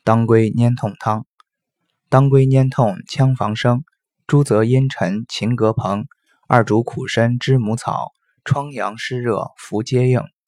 当归粘痛汤。当归粘痛羌防生，朱泽茵陈秦葛蓬，二主苦参知母草，疮疡湿热服皆应。